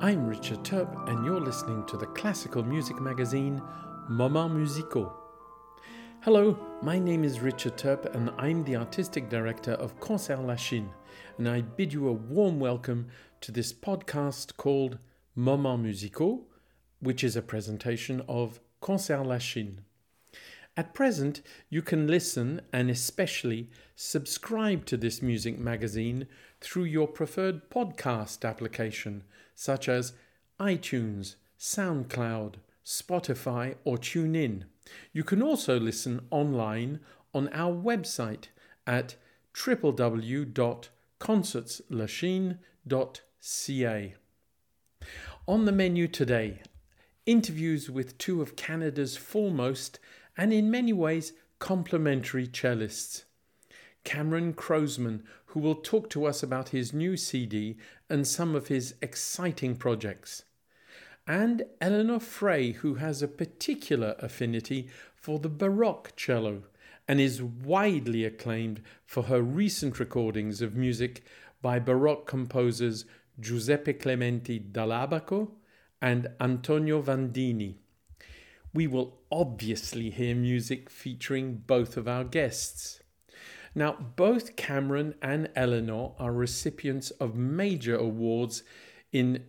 I'm Richard Turp, and you're listening to the classical music magazine Moments Musicaux. Hello, my name is Richard Turp, and I'm the artistic director of Concert Lachine, and I bid you a warm welcome to this podcast called Moments Musicaux, which is a presentation of Concert Lachine. At present, you can listen and especially subscribe to this music magazine through your preferred podcast application, such as iTunes, SoundCloud, Spotify, or TuneIn. You can also listen online on our website at www.concertslachine.ca. On the menu today, interviews with two of Canada's foremost and in many ways complementary cellists. Cameron Croasman, who will talk to us about his new CD and some of his exciting projects. And Eleanor Frey, who has a particular affinity for the Baroque cello and is widely acclaimed for her recent recordings of music by Baroque composers Giuseppe Clementi dall'Abaco and Antonio Vandini. We will obviously hear music featuring both of our guests. Now, both Cameron and Eleanor are recipients of major awards in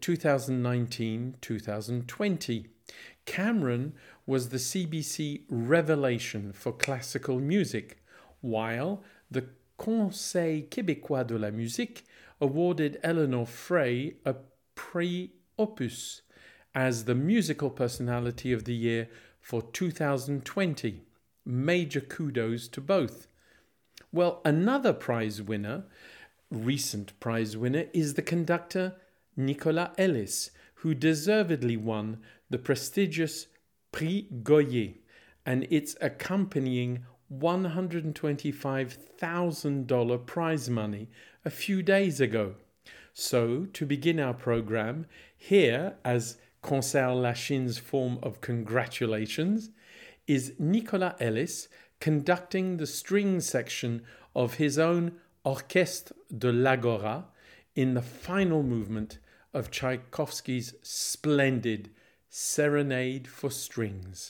2019-2020. Cameron was the CBC Revelation for Classical Music, while the Conseil québécois de la musique awarded Eleanor Frey a Prix Opus as the Musical Personality of the Year for 2020. Major kudos to both. Well, another recent prize winner, is the conductor Nicolas Ellis, who deservedly won the prestigious Prix Goyer and its accompanying $125,000 prize money a few days ago. So, to begin our program, here, as Concert Lachine's form of congratulations, is Nicolas Ellis conducting the string section of his own Orchestre de l'Agora in the final movement of Tchaikovsky's splendid Serenade for Strings.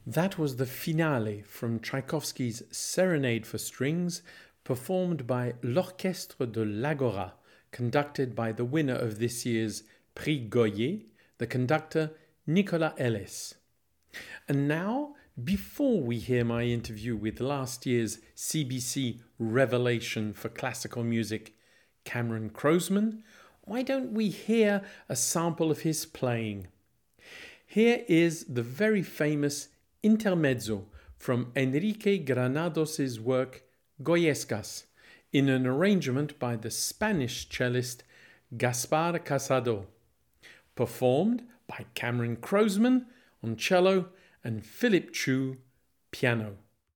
That was the finale from Tchaikovsky's Serenade for Strings, performed by l'Orchestre de l'Agora, conducted by the winner of this year's Prix Goyer, the conductor Nicolas Ellis. And now, before we hear my interview with last year's CBC Revelation for Classical Music, Cameron Croasmun, why don't we hear a sample of his playing? Here is the very famous Intermezzo from Enrique Granados' work Goyescas, in an arrangement by the Spanish cellist Gaspar Casado, performed by Cameron Croasmun on cello and Philip Chu piano.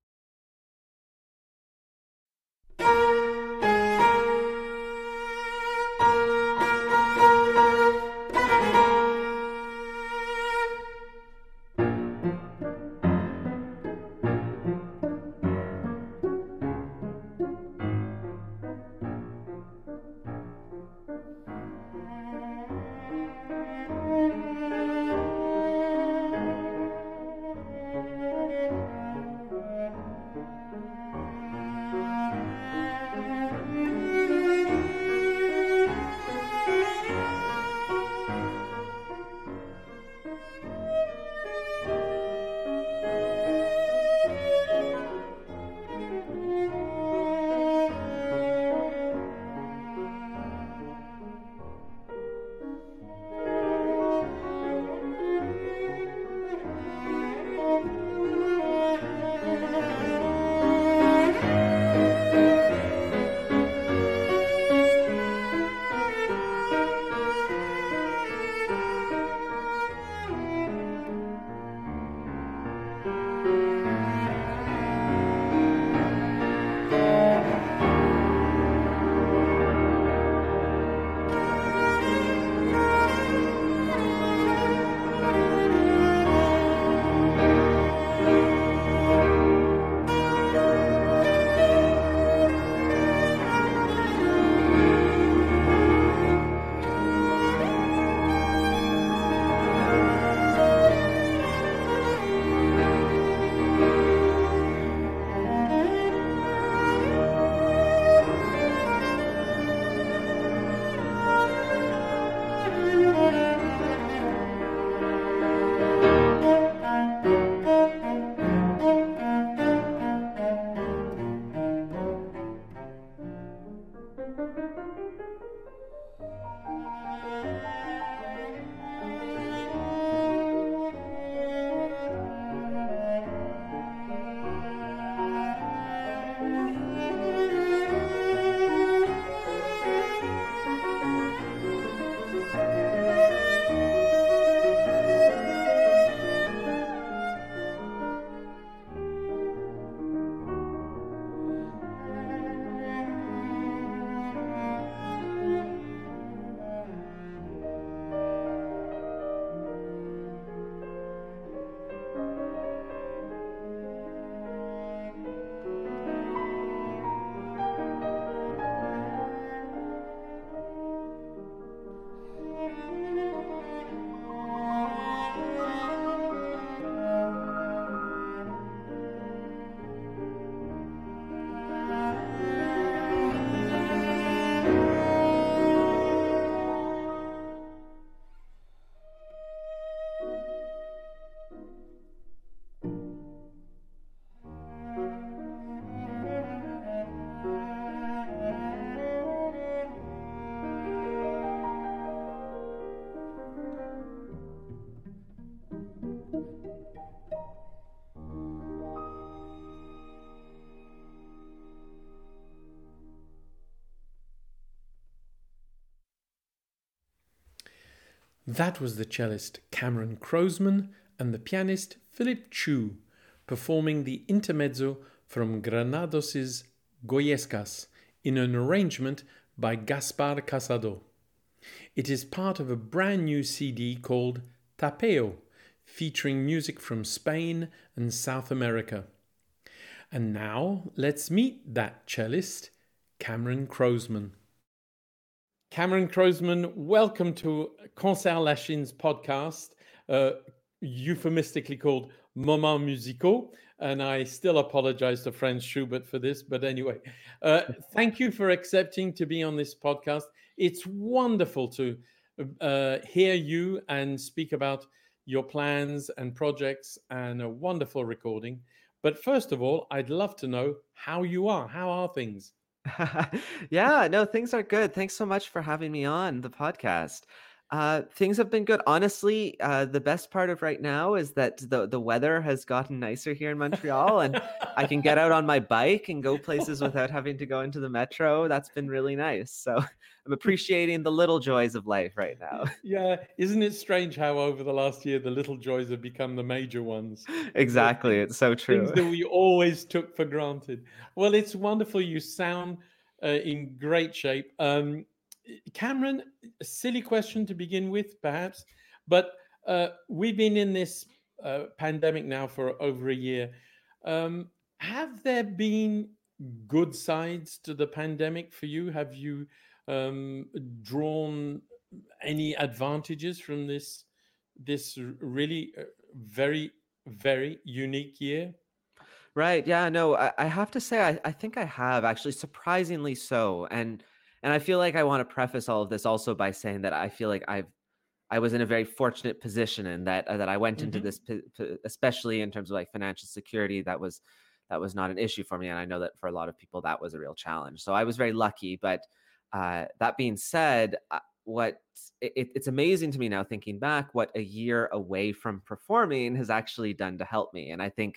That was the cellist Cameron Croasmun and the pianist Philip Chu performing the intermezzo from Granados' Goyescas in an arrangement by Gaspar Casado. It is part of a brand new CD called Tapeo, featuring music from Spain and South America. And now let's meet that cellist, Cameron Croasmun. Cameron Croasmun, welcome to Concert Lachine podcast, euphemistically called moments musicaux, and I still apologize to Franz Schubert for this. But anyway, thank you for accepting to be on this podcast. It's wonderful to hear you and speak about your plans and projects and a wonderful recording. But first of all, I'd love to know how you are. How are things? Yeah, no, things are good. Thanks so much for having me on the podcast. Things have been good. Honestly, the best part of right now is that the weather has gotten nicer here in Montreal, and I can get out on my bike and go places without having to go into the metro. That's been really nice. So I'm appreciating the little joys of life right now. Yeah, isn't it strange how over the last year the little joys have become the major ones? The Exactly. It's so things true. that we always took for granted. Well, it's wonderful. You sound in great shape. Cameron, a silly question to begin with, perhaps, but we've been in this pandemic now for over a year. Have there been good sides to the pandemic for you? Have you drawn any advantages from this really very very unique year? Right. Yeah. No, I have to say, I think I have actually, surprisingly so. And I feel like I want to preface all of this also by saying that I feel like I was in a very fortunate position, and that I went into Hmm. this, especially in terms of like financial security, that was not an issue for me. And I know that for a lot of people, that was a real challenge. So I was very lucky. But that being said, it's amazing to me now thinking back what a year away from performing has actually done to help me. And I think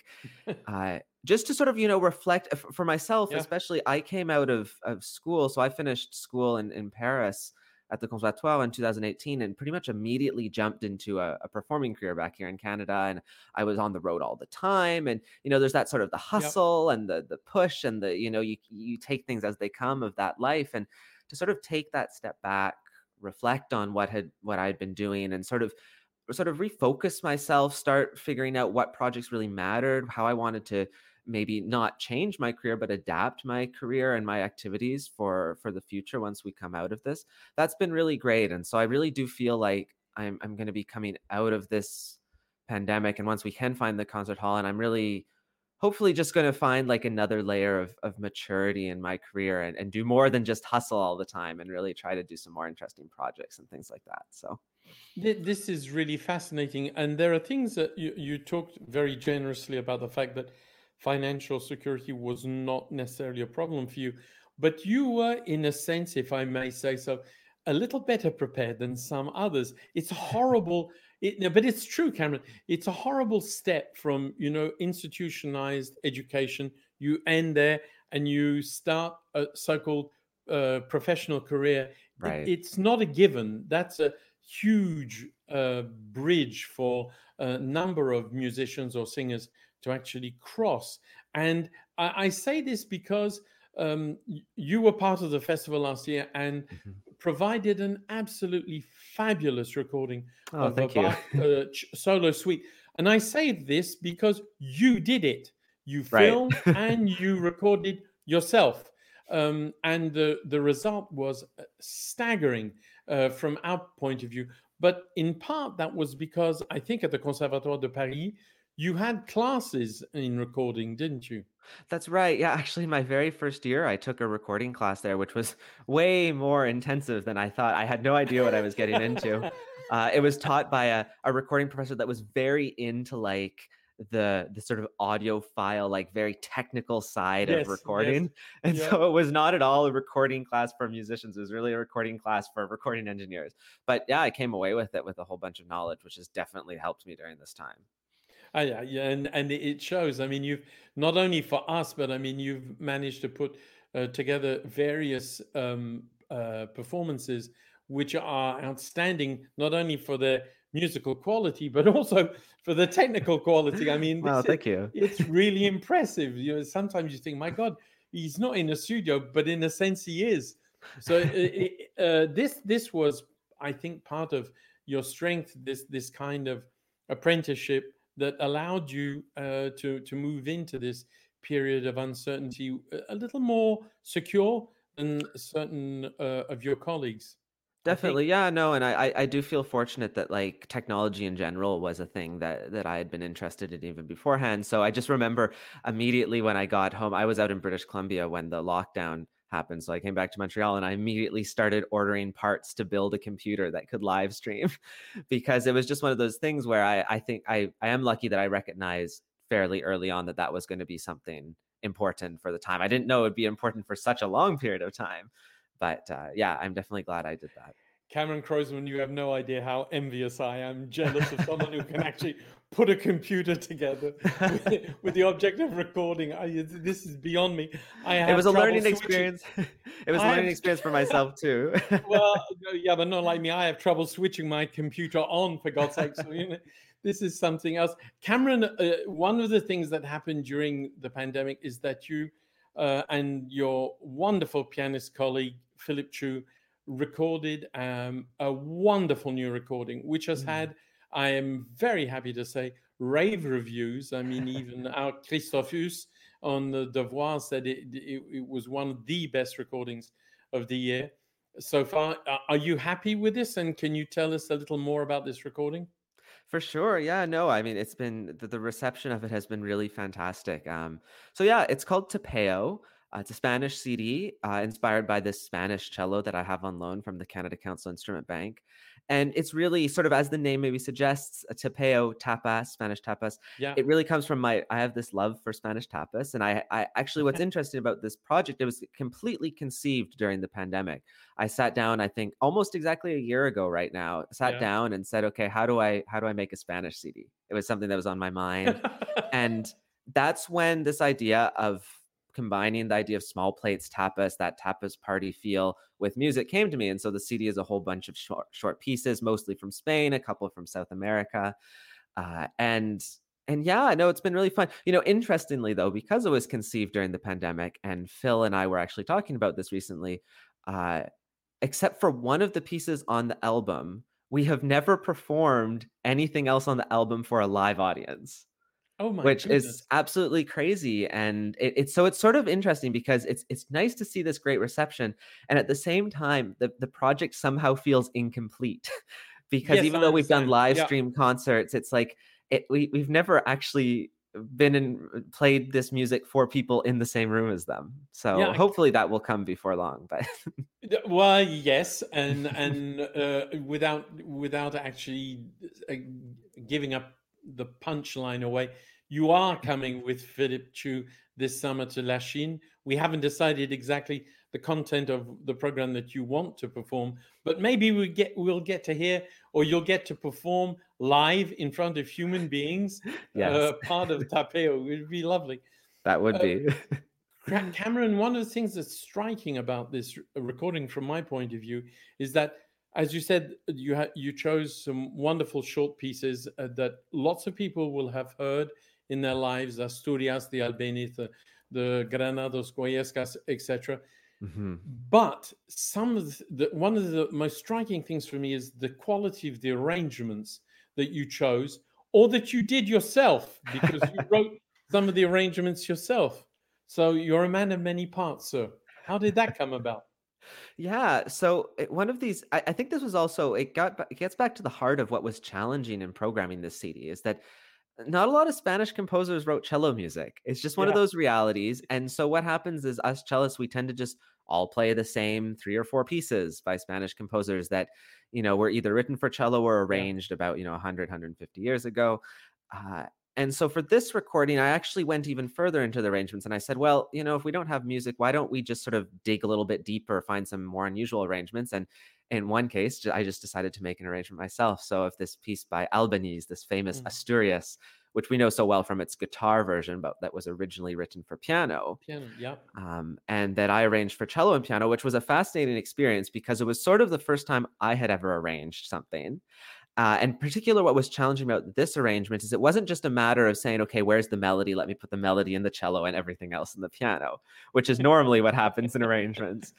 just to sort of, reflect for myself, Yeah. especially, I came out of school. So I finished school in Paris at the Conservatoire in 2018 and pretty much immediately jumped into a performing career back here in Canada. And I was on the road all the time. And, there's that sort of the Yep. hustle and the push and you take things as they come of that life. And to sort of take that step back, reflect on what I'd been doing, and sort of refocus myself, start figuring out what projects really mattered, how I wanted to maybe not change my career but adapt my career and my activities for the future once we come out of this. That's been really great. And so I really do feel like I'm going to be coming out of this pandemic, and once we can find the concert hall, and I'm really hopefully just going to find like another layer of maturity in my career, and do more than just hustle all the time, and really try to do some more interesting projects and things like that. So This is really fascinating. And there are things that you talked very generously about the fact that financial security was not necessarily a problem for you, but you were, in a sense, if I may say so, a little better prepared than some others. It's horrible. No, but it's true, Cameron. It's a horrible step from, institutionalized education. You end there and you start a so-called professional career. right. It's not a given. That's a huge bridge for a number of musicians or singers to actually cross. And I say this because you were part of the festival last year and Mhm. provided an absolutely fabulous recording Oh, of a thank you. Bach solo suite. And I say this because you did it. You Right. filmed and you recorded yourself. And the result was staggering from our point of view. But in part, that was because I think at the Conservatoire de Paris, you had classes in recording, didn't you? That's right. Yeah, actually, my very first year, I took a recording class there, which was way more intensive than I thought. I had no idea what I was getting into. It was taught by a recording professor that was very into like the sort of audiophile, like very technical side of Yes, yes, recording. And yeah. so it was not at all a recording class for musicians. It was really a recording class for recording engineers. But yeah, I came away with it with a whole bunch of knowledge, which has definitely helped me during this time. Yeah, yeah, and it shows. I mean, you've not only for us, but I mean, you've managed to put together various performances which are outstanding, not only for their musical quality, but also for the technical quality. I mean, Well, this is thank you. it's really impressive. Sometimes you think, my God, he's not in a studio, but in a sense, he is. So this was, I think, part of your strength. This kind of apprenticeship that allowed you to move into this period of uncertainty a little more secure than certain of your colleagues. I think. Definitely. Yeah, no, and I do feel fortunate that like technology in general was a thing that I had been interested in even beforehand. So I just remember immediately when I got home, I was out in British Columbia when the lockdown happened. So I came back to Montreal and I immediately started ordering parts to build a computer that could live stream because it was just one of those things where I think I am lucky that I recognized fairly early on that that was going to be something important for the time. I didn't know it would be important for such a long period of time. But yeah, I'm definitely glad I did that. Cameron Croisman, you have no idea how envious I am, jealous of someone who can actually put a computer together with the object of recording. This is beyond me. I It have was a trouble learning switching. experience. It was a I learning have, experience for myself too. well, no, yeah, but not like me. I have trouble switching my computer on, for God's sake. So, this is something else. Cameron, one of the things that happened during the pandemic is that you and your wonderful pianist colleague, Philip Chu, recorded a wonderful new recording, which has Mm. had, I am very happy to say, rave reviews. I mean, even our Christophe Hus on the Devoir said it was one of the best recordings of the year so far. Are you happy with this? And can you tell us a little more about this recording? For sure. Yeah, no, I mean, it's been the reception of it has been really fantastic. So yeah, it's called Tapeo. It's a Spanish CD inspired by this Spanish cello that I have on loan from the Canada Council Instrument Bank. And it's really sort of, as the name maybe suggests, a tapeo, tapas, Spanish tapas. Yeah. It really comes from I have this love for Spanish tapas. And I actually, what's interesting about this project, it was completely conceived during the pandemic. I sat down, I think almost exactly a year ago right now, sat Yeah. down and said, okay, how do I make a Spanish CD? It was something that was on my mind. And that's when this idea of combining the idea of small plates tapas, that tapas party feel with music came to me. And so the CD is a whole bunch of short pieces, mostly from Spain, a couple from South America. Uh, and and yeah, I know it's been really fun. Interestingly though, because it was conceived during the pandemic, and Phil and I were actually talking about this recently, uh, except for one of the pieces on the album, we have never performed anything else on the album for a live audience, Oh my which is goodness. absolutely crazy. And it's sort of interesting because it's nice to see this great reception, and at the same time, the project somehow feels incomplete because Yes, even I though we've done understand. live Yeah. stream concerts, it's like we've never actually been in played this music for people in the same room as them. So Yeah. hopefully that will come before long. But Well, yes, and without actually uh, giving up the punchline away, you are coming with Philip Chu this summer to La Chine. We haven't decided exactly the content of the program that you want to perform, but maybe we'll get to hear, or you'll get to perform live in front of human beings, yes, part of Tapeo. It would be lovely. that would Uh, be. Cameron, one of the things that's striking about this recording, from my point of view, is that, as you said, you chose some wonderful short pieces that lots of people will have heard in their lives: Asturias, the Albéniz, the Granados, Guayescas, etc. Mhm. But one of the most striking things for me is the quality of the arrangements that you chose, or that you did yourself, because you wrote some of the arrangements yourself. So you're a man of many parts, sir. How did that come about? Yeah, so one of these, I think this was also it gets back to the heart of what was challenging in programming this CD is that not a lot of Spanish composers wrote cello music. It's just one of Yeah, those realities. And so what happens is us cellists, we tend to just all play the same three or four pieces by Spanish composers that, were either written for cello or yeah. arranged about, 100, years ago. Uh, and so for this recording, I actually went even further into the arrangements and I said, well, if we don't have music, why don't we just sort of dig a little bit deeper, find some more unusual arrangements? And in one case, I just decided to make an arrangement myself. So if this piece by Albéniz, this famous Mm. Asturias, which we know so well from its guitar version, but that was originally written for piano, Piano, yeah. and that I arranged for cello and piano, which was a fascinating experience because it was sort of the first time I had ever arranged something. And in particular, what was challenging about this arrangement is it wasn't just a matter of saying, okay, where's the melody? Let me put the melody in the cello and everything else in the piano, which is normally what happens in arrangements.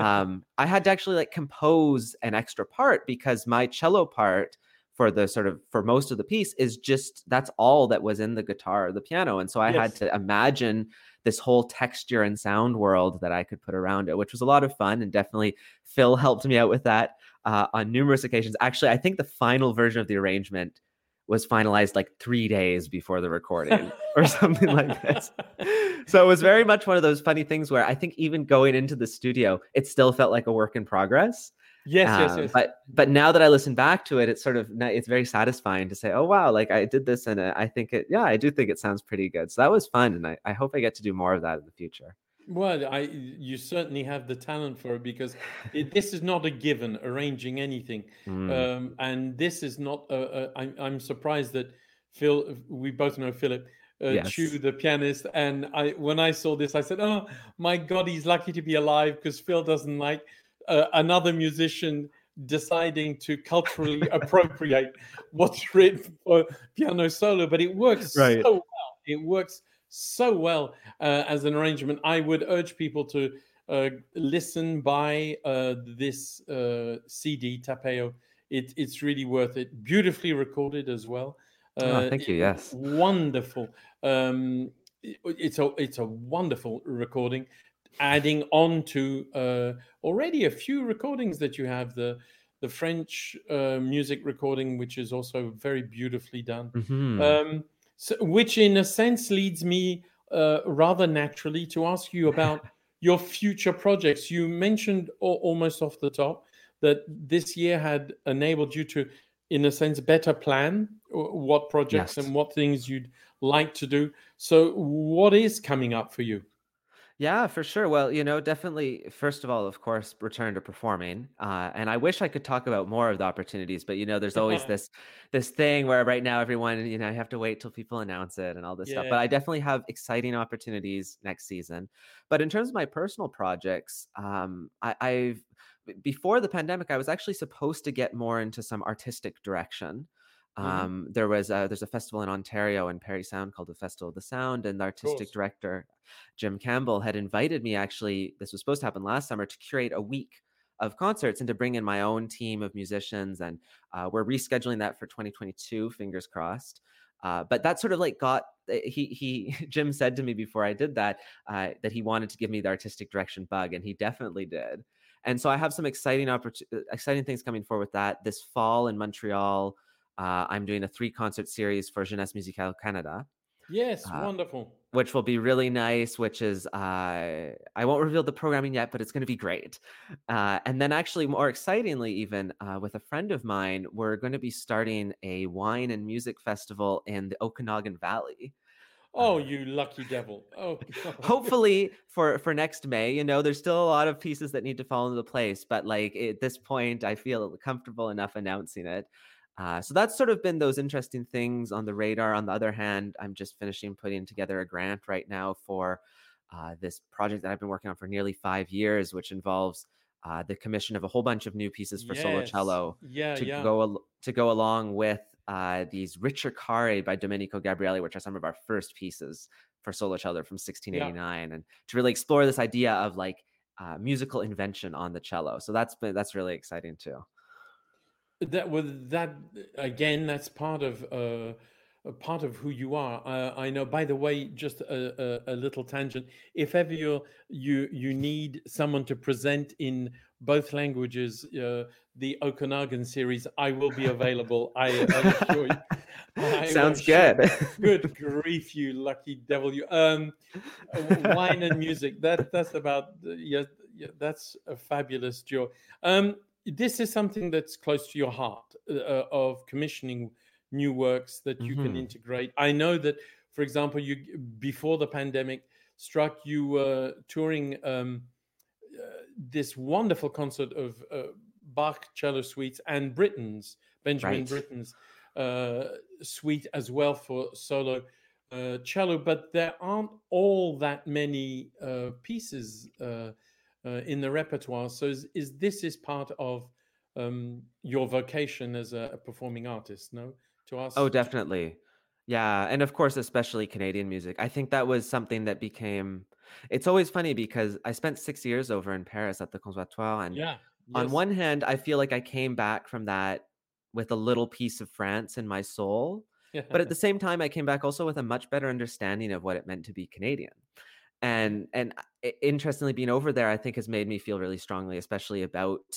I had to actually compose an extra part because my cello part for most of the piece is just that's all that was in the guitar or the piano. And so I had Yes. to imagine this whole texture and sound world that I could put around it, which was a lot of fun. And definitely Phil helped me out with that. on numerous occasions. Actually, I think the final version of the arrangement was finalized like 3 days before the recording or something like this. So it was very much one of those funny things where I think even going into the studio, it still felt like a work in progress. Yes, yes, yes. But now that I listen back to it, it's sort of it's very satisfying to say, oh wow, like I did this, and I think I do think it sounds pretty good. So that was fun, and I hope I get to do more of that in the future. Well, you certainly have the talent for it, because this is not a given, arranging anything, Mm, and this is not. I'm surprised that Phil. We both know Philip Chu, yes. the pianist, and when I saw this, I said, "Oh my God, he's lucky to be alive," because Phil doesn't like another musician deciding to culturally appropriate what's written for piano solo. But it works Right. so well. It works so well as an arrangement. I would urge people to listen, buy this CD, Tapeo. It's really worth it. Beautifully recorded as well. Oh, thank you. Yes. Wonderful. It's a wonderful recording. Adding on to already a few recordings that you have, the French music recording, which is also very beautifully done. Hmm. Um, so, which in a sense leads me rather naturally to ask you about your future projects. You mentioned almost off the top that this year had enabled you to, in a sense, better plan what projects Yes. and what things you'd like to do. So, what is coming up for you? Yeah, for sure. Well, definitely, first of all, of course, return to performing. And I wish I could talk about more of the opportunities, but there's always this thing where right now everyone, I have to wait till people announce it and all this stuff. But I Yeah. definitely have exciting opportunities next season. But in terms of my personal projects, I've before the pandemic, I was actually supposed to get more into some artistic direction. Hmm. There's a festival in Ontario in Parry Sound called the Festival of the Sound, and the Of artistic course. director Jim Campbell had invited me. Actually, this was supposed to happen last summer, to curate a week of concerts and to bring in my own team of musicians. And we're rescheduling that for 2022, fingers crossed. But that sort of like got he Jim said to me before I did that he wanted to give me the artistic direction bug, and he definitely did. And so I have some exciting things coming forward with that. This fall in Montreal, I'm doing a 3 concert series for Jeunesse Musicale Canada, Yes, uh, wonderful. which will be really nice, which is I won't reveal the programming yet, but it's going to be great. And then actually more excitingly, even with a friend of mine, we're going to be starting a wine and music festival in the Okanagan Valley. Oh, Uh, you lucky devil. Oh, God. Hopefully for next May. There's still a lot of pieces that need to fall into place, but like at this point, I feel comfortable enough announcing it. So that's sort of been those interesting things on the radar. On the other hand, I'm just finishing putting together a grant right now for this project that I've been working on for nearly 5 years, which involves the commission of a whole bunch of new pieces for solo Yes. cello Yeah, to yeah. go along with these Ricercare by Domenico Gabrielli, which are some of our first pieces for solo cello from Yeah. 1689, and to really explore this idea of like musical invention on the cello. So that's really exciting too. That again, that's part of a part of who you are. I know. By the way, just a little tangent. If ever you need someone to present in both languages, the Okanagan series, I will be available. I assure you. I Sounds assure you. good. Good grief, you lucky devil! You wine and music. That's about yeah, yeah. That's a fabulous joy. This is something that's close to your heart, of commissioning new works that you can Hmm. integrate. I know that, for example, you before the pandemic struck, you were touring this wonderful concert of Bach cello suites and Benjamin Right. Britten's suite as well for solo cello, but there aren't all that many pieces in the repertoire. So is this is part of your vocation as a performing artist? No, to Oh, us. definitely. Yeah, and of course, especially Canadian music. I think that was something that became it's always funny because I spent 6 years over in Paris at the Conservatoire, and Yeah. on Yes. one hand, I feel like I came back from that with a little piece of France in my soul, but at the same time, I came back also with a much better understanding of what it meant to be Canadian. And interestingly, being over there, I think has made me feel really strongly, especially about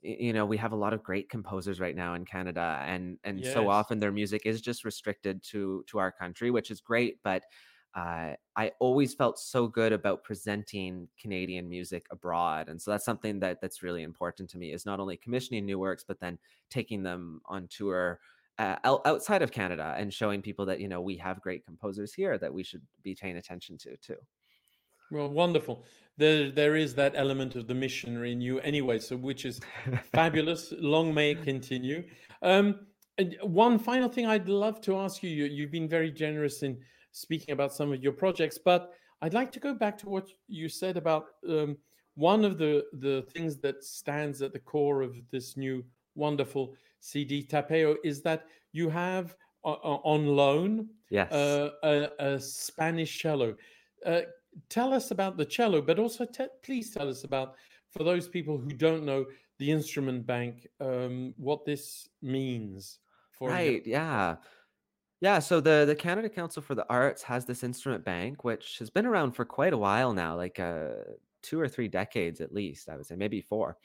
we have a lot of great composers right now in Canada, and so Yes. often their music is just restricted to our country, which is great. But I always felt so good about presenting Canadian music abroad, and so that's something that's really important to me, is not only commissioning new works, but then taking them on tour outside of Canada and showing people that we have great composers here that we should be paying attention to too. Well, wonderful. There is that element of the missionary in you anyway, so which is fabulous. Long may it continue. And one final thing I'd love to ask you, you've been very generous in speaking about some of your projects, but I'd like to go back to what you said about one of the things that stands at the core of this new wonderful CD Tapeo is that you have on loan Yes. a Spanish cello. Uh, Tell us about the cello, but also please tell us about, for those people who don't know the instrument bank, what this means for young Right. people. Yeah. Yeah, so the Canada Council for the Arts has this instrument bank, which has been around for quite a while now, like 2 or 3 decades at least, I would say, maybe four.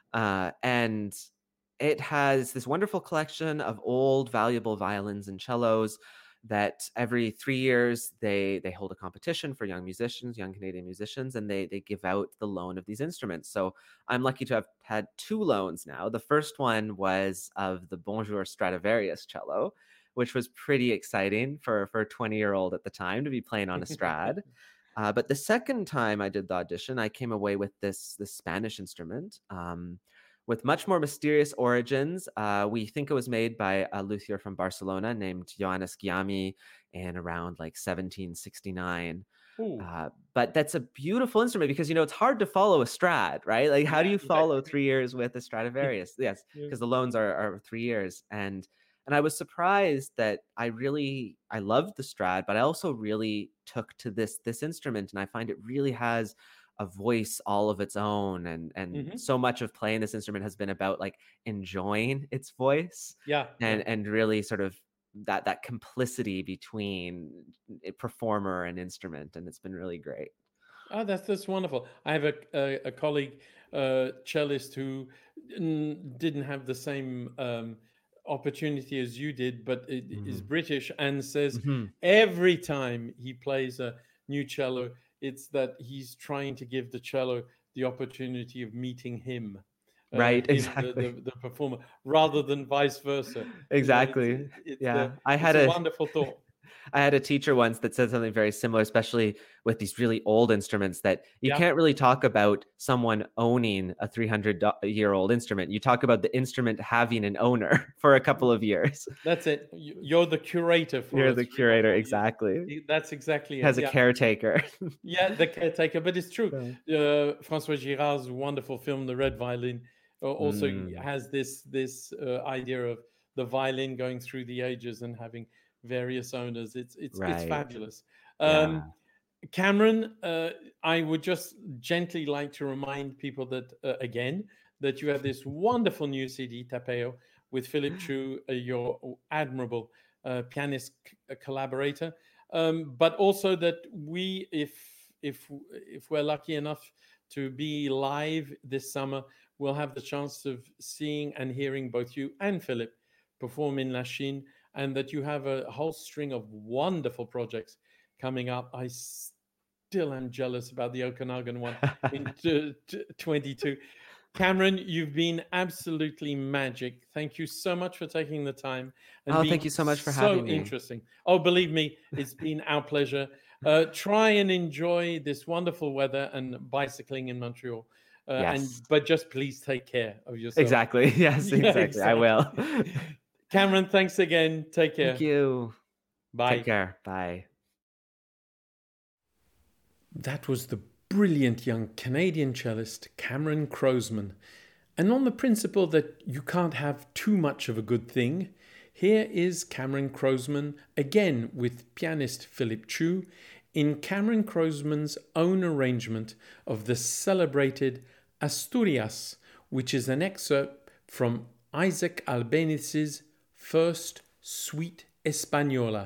And it has this wonderful collection of old, valuable violins and cellos that every 3 years they hold a competition for young musicians, young Canadian musicians, and they give out the loan of these instruments. So I'm lucky to have had two loans now. The first one was of the Bonjour Stradivarius cello, which was pretty exciting for a 20-year-old at the time to be playing on a Strad. But the second time I did the audition, I came away with this Spanish instrument with much more mysterious origins. We think it was made by a luthier from Barcelona named Johannes Giami in around like 1769. Oh, But that's a beautiful instrument because it's hard to follow a Strad, right? Like, how do yeah, you yeah, follow 3 years with a Stradivarius? Yes, yeah. because the loans are 3 years, and I was surprised that I loved the Strad, but I also really took to this instrument, and I find it really has a voice all of its own, and Mhm. so much of playing this instrument has been about like enjoying its voice, Yeah, yeah. and really sort of that complicity between a performer and instrument, and it's been really great. Oh, that's wonderful. I have a colleague, cellist, who didn't have the same opportunity as you did, but is Mhm. British and says Mhm. every time he plays a new cello, it's that he's trying to give the cello the opportunity of meeting him, Right, him, exactly. the performer, rather than vice versa. Exactly. Yeah. It's a wonderful thought. I had a teacher once that said something very similar, especially with these really old instruments, that you Yeah. can't really talk about someone owning a 300-year-old instrument. You talk about the instrument having an owner for a couple of years. That's it. You're the curator for You're a the three or curator, 4 years. exactly. That's exactly it. Has a Yeah. caretaker. Yeah, the caretaker. But it's true. Yeah. François Girard's wonderful film, The Red Violin, also Mm, has this idea of the violin going through the ages and having various owners. It's right. fabulous. Yeah. Cameron, I would just gently like to remind people that again that you have this wonderful new CD Tapeo with Philip Chu, your admirable pianist collaborator, but also that we, if we're lucky enough to be live this summer, we'll have the chance of seeing and hearing both you and Philip perform in La Chine, and that you have a whole string of wonderful projects coming up. I still am jealous about the Okanagan one in 22. Cameron, you've been absolutely magic. Thank you so much for taking the time and Oh, thank being you so much for so having me. interesting. Oh, believe me, it's been our pleasure. Try and enjoy this wonderful weather and bicycling in Montreal. Yes. But just please take care of yourself. Exactly. Yes, Yeah, exactly. I will. exactly. Cameron, thanks again. Take Thank care. you. Take Bye. care. Bye. That was the brilliant young Canadian cellist Cameron Crozeman. And on the principle that you can't have too much of a good thing, here is Cameron Crozeman again with pianist Philip Chu in Cameron Crozeman's own arrangement of the celebrated Asturias, which is an excerpt from Isaac Albéniz's first Suite Española.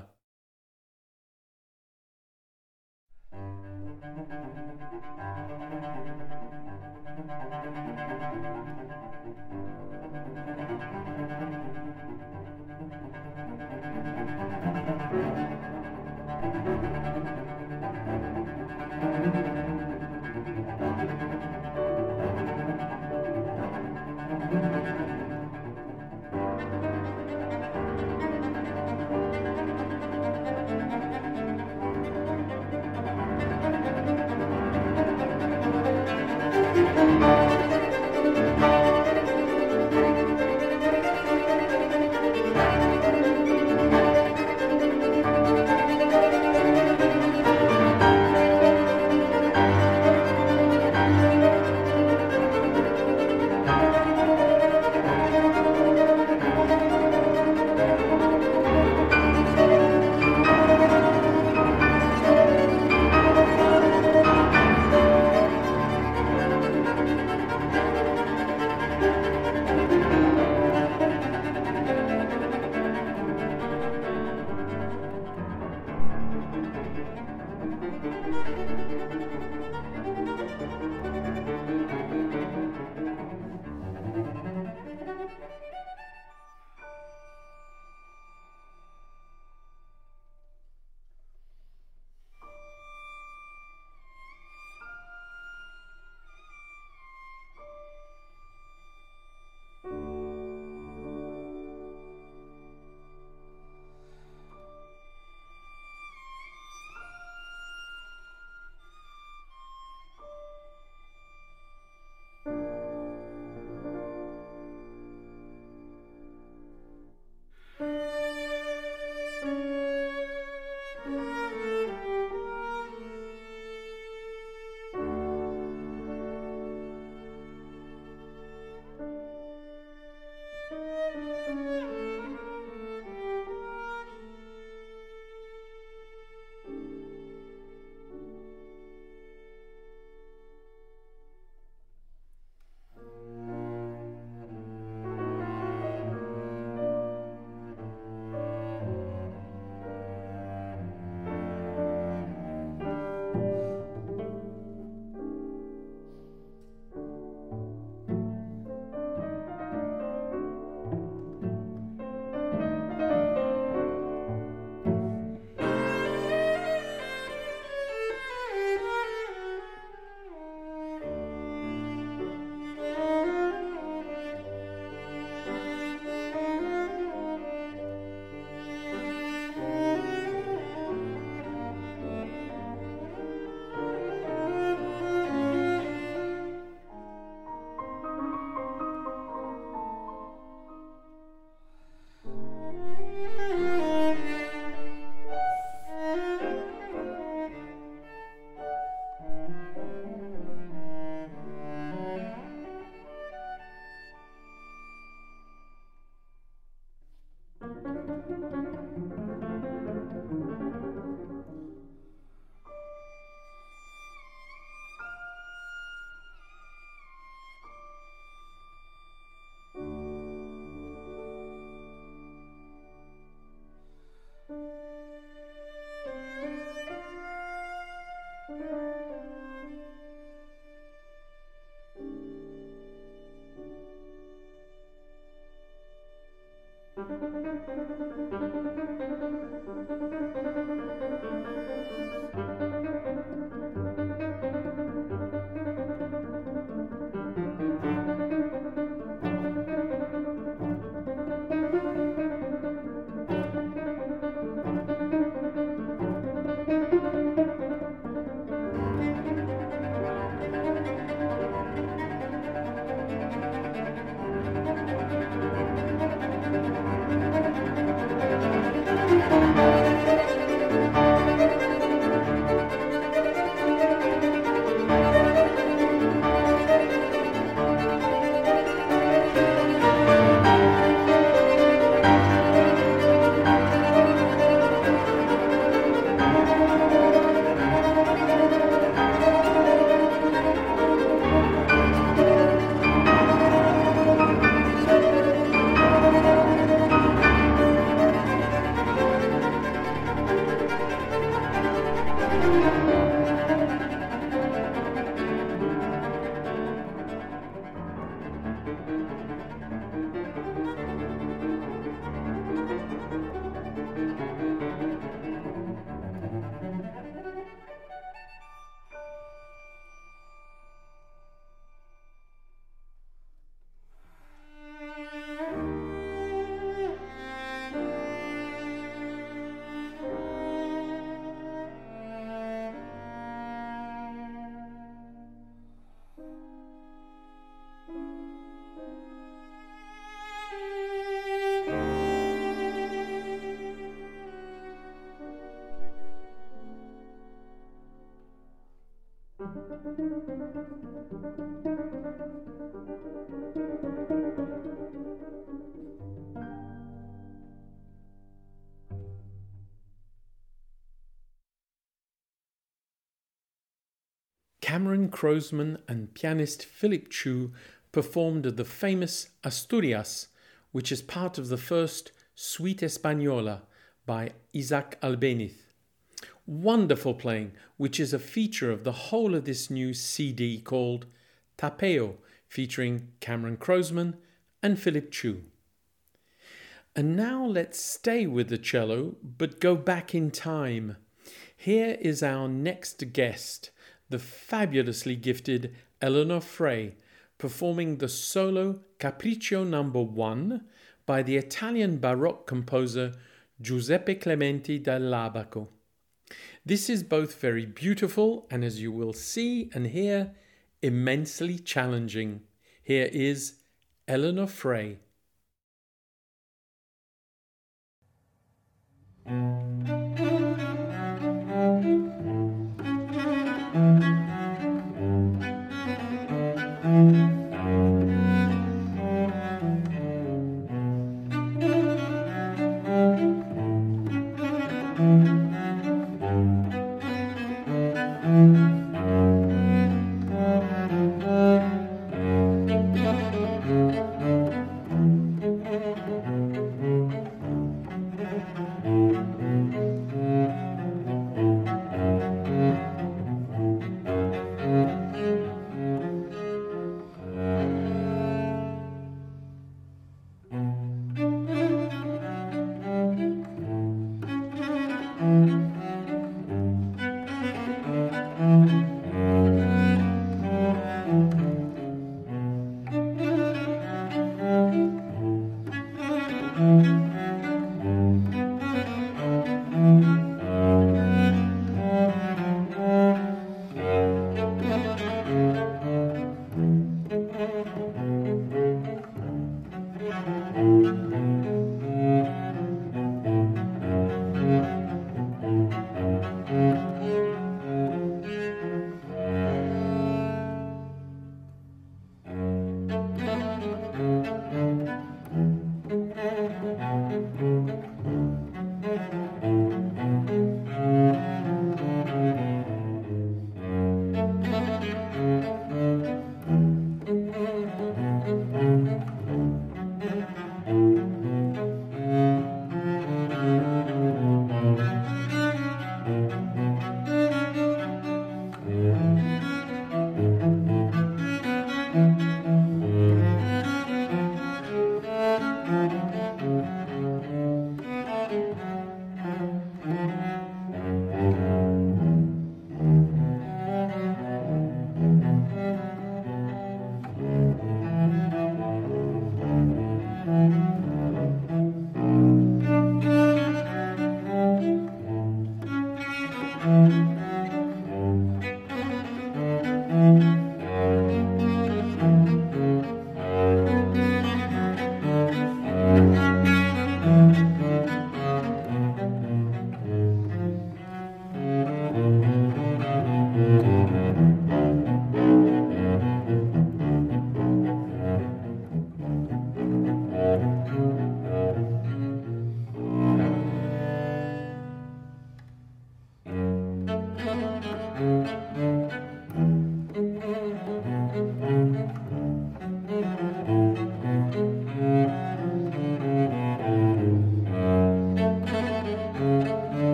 Cameron Croasmun and pianist Philip Chu performed the famous Asturias, which is part of the first Suite Española by Isaac Albéniz. Wonderful playing, which is a feature of the whole of this new CD called Tapeo, featuring Cameron Croasmun and Philip Chu. And now let's stay with the cello, but go back in time. Here is our next guest, the fabulously gifted Eleanor Frey, performing the solo Capriccio No. 1 by the Italian Baroque composer Giuseppe Clementi dall'Abaco. This is both very beautiful and, as you will see and hear, immensely challenging. Here is Eleanor Frey.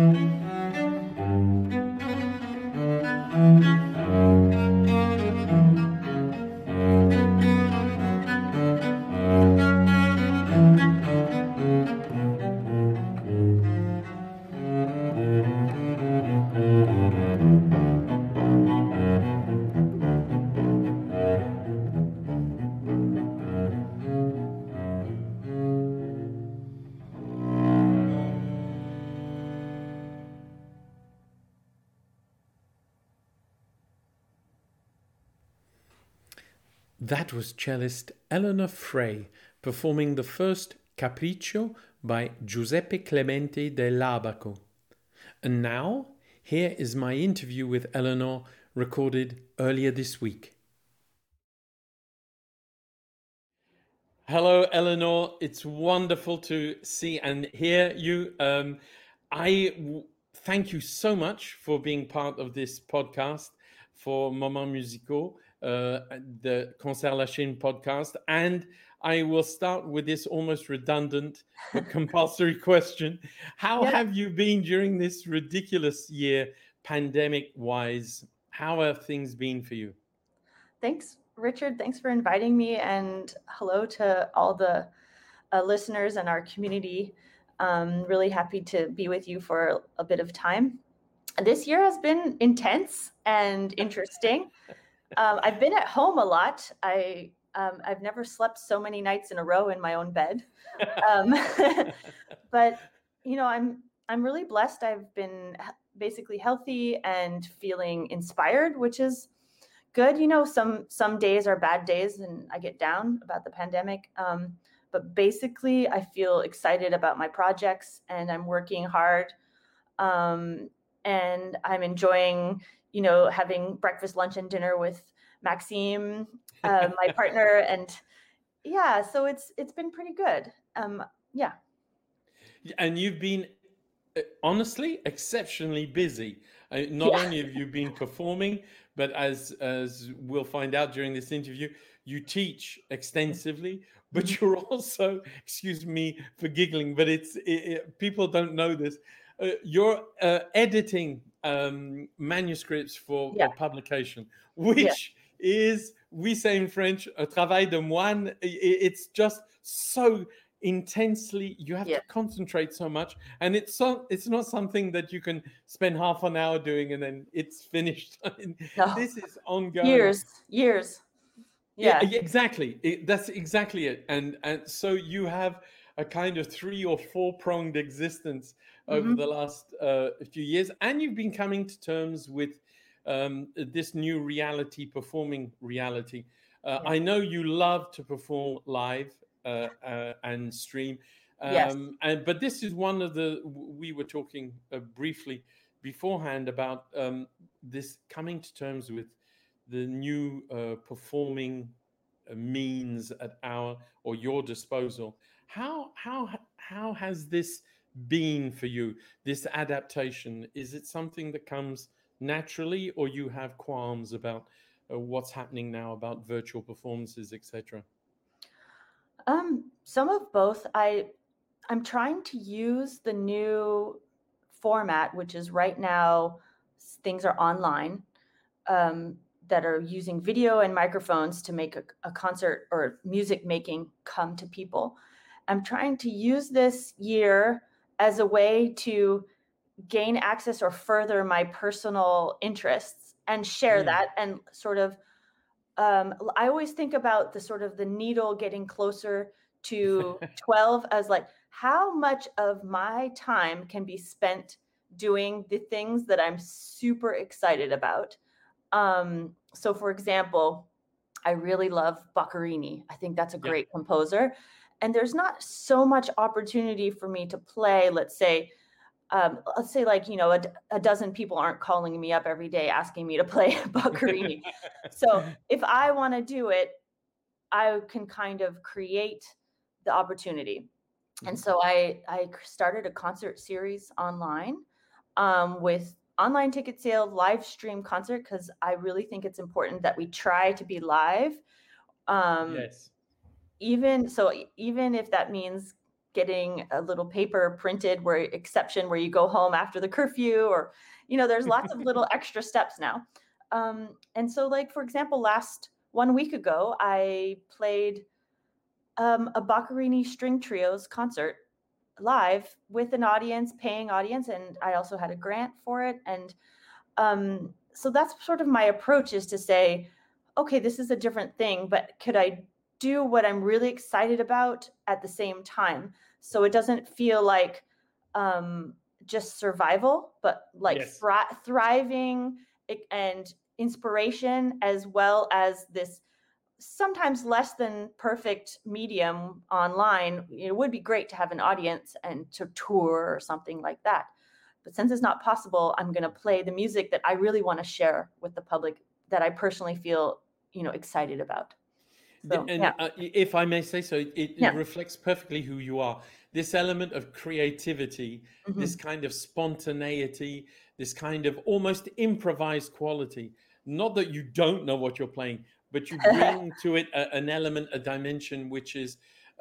That was cellist Eleanor Frey performing the first Capriccio by Giuseppe Clemente dell'Abaco. And now, here is my interview with Eleanor recorded earlier this week. Hello, Eleanor. It's wonderful to see and hear you. Thank you so much for being part of this podcast for Moments Musicaux, the Concert La Chine podcast. And I will start with this almost redundant but compulsory question. How have you been during this ridiculous year, pandemic-wise? How have things been for you? Thanks, Richard. Thanks for inviting me, and hello to all the listeners and our community. Really happy to be with you for a bit of time. This year has been intense and interesting. I've been at home a lot. I've never slept so many nights in a row in my own bed. But I'm really blessed. I've been basically healthy and feeling inspired, which is good. Some days are bad days and I get down about the pandemic. But basically I feel excited about my projects and I'm working hard. And I'm enjoying, having breakfast, lunch, and dinner with Maxime, my partner. And yeah, so it's been pretty good. Yeah. And you've been honestly exceptionally busy. Not only have you been performing, but as we'll find out during this interview, you teach extensively, but you're also, excuse me for giggling, but people don't know this. You're editing manuscripts for publication, which is, we say in French, un travail de moine. It's just so intensely, you have to concentrate so much, and it's not something that you can spend half an hour doing and then it's finished. No. This is ongoing. Years. Yeah, exactly. That's exactly it. And so you have a kind of 3 or 4 pronged existence over the last few years, and you've been coming to terms with this new reality, performing reality. I know you love to perform live and stream, but this is one of we were talking briefly beforehand about this coming to terms with the new performing means at your disposal. How has this been for you, this adaptation? Is it something that comes naturally, or you have qualms about what's happening now about virtual performances, etc.? Some of both. I'm trying to use the new format, which is right now things are online, that are using video and microphones to make a concert or music making come to people. I'm trying to use this year as a way to gain access or further my personal interests and share that, and sort of I always think about the needle getting closer to 12 as like, how much of my time can be spent doing the things that I'm super excited about. So for example, I really love Boccherini. I think that's a great composer. And there's not so much opportunity for me to play, let's say like, a dozen people aren't calling me up every day asking me to play Boccherini. So if I want to do it, I can kind of create the opportunity. And so I started a concert series online with online ticket sale, live stream concert, because I really think it's important that we try to be live. Even if that means getting a little paper printed where exception where you go home after the curfew, or, there's lots of little extra steps now. And so, like, for example, 1 week ago, I played a Boccherini string trios concert live with an audience, paying audience, and I also had a grant for it. And so that's sort of my approach, is to say, okay, this is a different thing, but could I do what I'm really excited about at the same time? So it doesn't feel like just survival, but like Yes. thriving and inspiration, as well as this sometimes less than perfect medium online. It would be great to have an audience and to tour or something like that. But since it's not possible, I'm going to play the music that I really want to share with the public, that I personally feel, excited about. So, And if I may say so, it Yeah. reflects perfectly who you are. This element of creativity, this kind of spontaneity, this kind of almost improvised quality. Not that you don't know what you're playing, but you bring to it an element, a dimension which is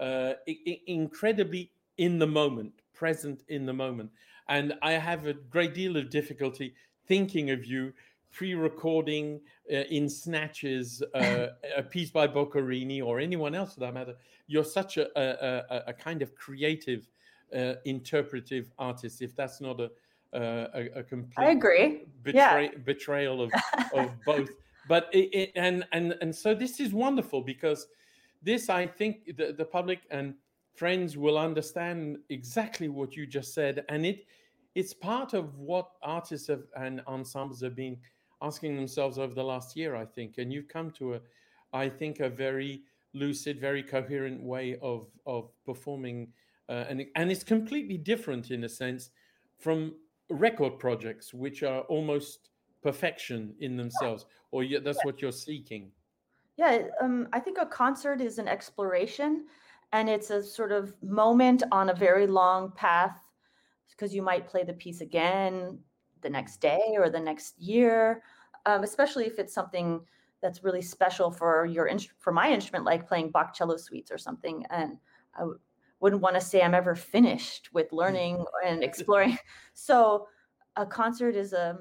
incredibly in the moment, present in the moment. And I have a great deal of difficulty thinking of you pre-recording in snatches a piece by Boccherini or anyone else for that matter. You're such a kind of creative, interpretive artist, if that's not a complete I agree. betrayal of both. But and so this is wonderful, because this, I think, the public and friends will understand exactly what you just said, and it's part of what artists and ensembles have been asking themselves over the last year, I think. And you've come to a very lucid, very coherent way of performing, and it's completely different in a sense from record projects, which are almost perfection in themselves, or that's what you're seeking. Yeah, I think a concert is an exploration, and it's a sort of moment on a very long path, because you might play the piece again the next day or the next year, especially if it's something that's really special for for my instrument, like playing Bach cello suites or something. And I wouldn't want to say I'm ever finished with learning and exploring. So a concert is a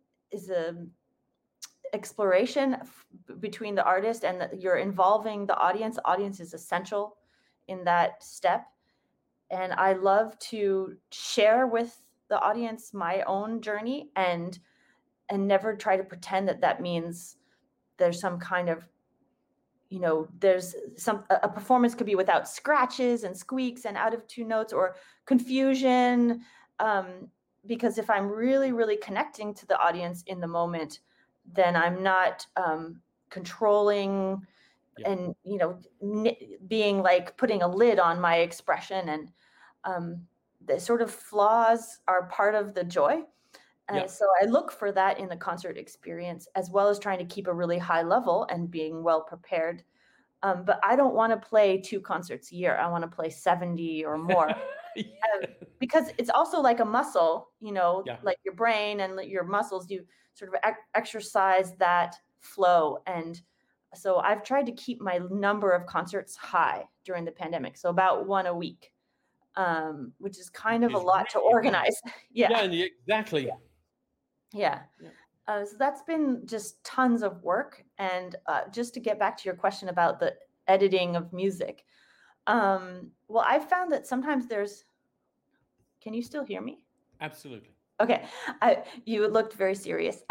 exploration between the artist, and you're involving the audience. The audience is essential in that step. And I love to share with the audience my own journey, and never try to pretend that means there's some kind of, there's a performance could be without scratches and squeaks and out of tune notes or confusion. Because if I'm really, really connecting to the audience in the moment, then I'm not controlling and, being like putting a lid on my expression. And the sort of flaws are part of the joy. So I look for that in the concert experience, as well as trying to keep a really high level and being well prepared. But I don't want to play 2 concerts a year. I want to play 70 or more. Because it's also like a muscle, like your brain and your muscles, you sort of exercise that flow. And so I've tried to keep my number of concerts high during the pandemic. So about 1 a week, which is kind of a lot to organize. Yeah, exactly. Yeah. So that's been just tons of work. And just to get back to your question about the editing of music. Well, I've found that sometimes can you still hear me? Absolutely. Okay. You looked very serious.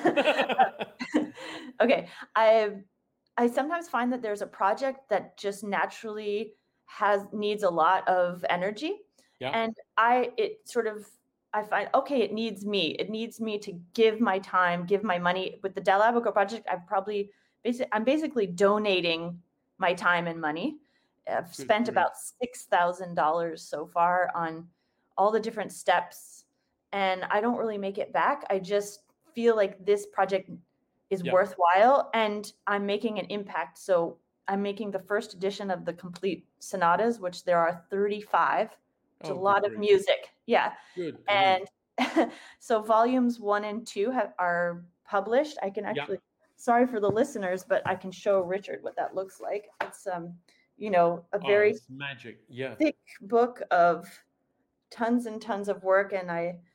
Okay. I sometimes find that there's a project that just naturally needs a lot of energy. Yeah. And I find, okay, it needs me. It needs me to give my time, give my money. With the Del Abaco project, I'm basically donating my time and money. I've spent about $6,000 so far on all the different steps, and I don't really make it back. I just feel like this project is worthwhile, and I'm making an impact. So I'm making the first edition of the complete sonatas, which there are 35. It's a lot of music. Yeah. Good. And so volumes 1 and 2 are published. I can actually, sorry for the listeners, but I can show Richard what that looks like. a Oh, very it's magic. Yeah. thick book of tons and tons of work. And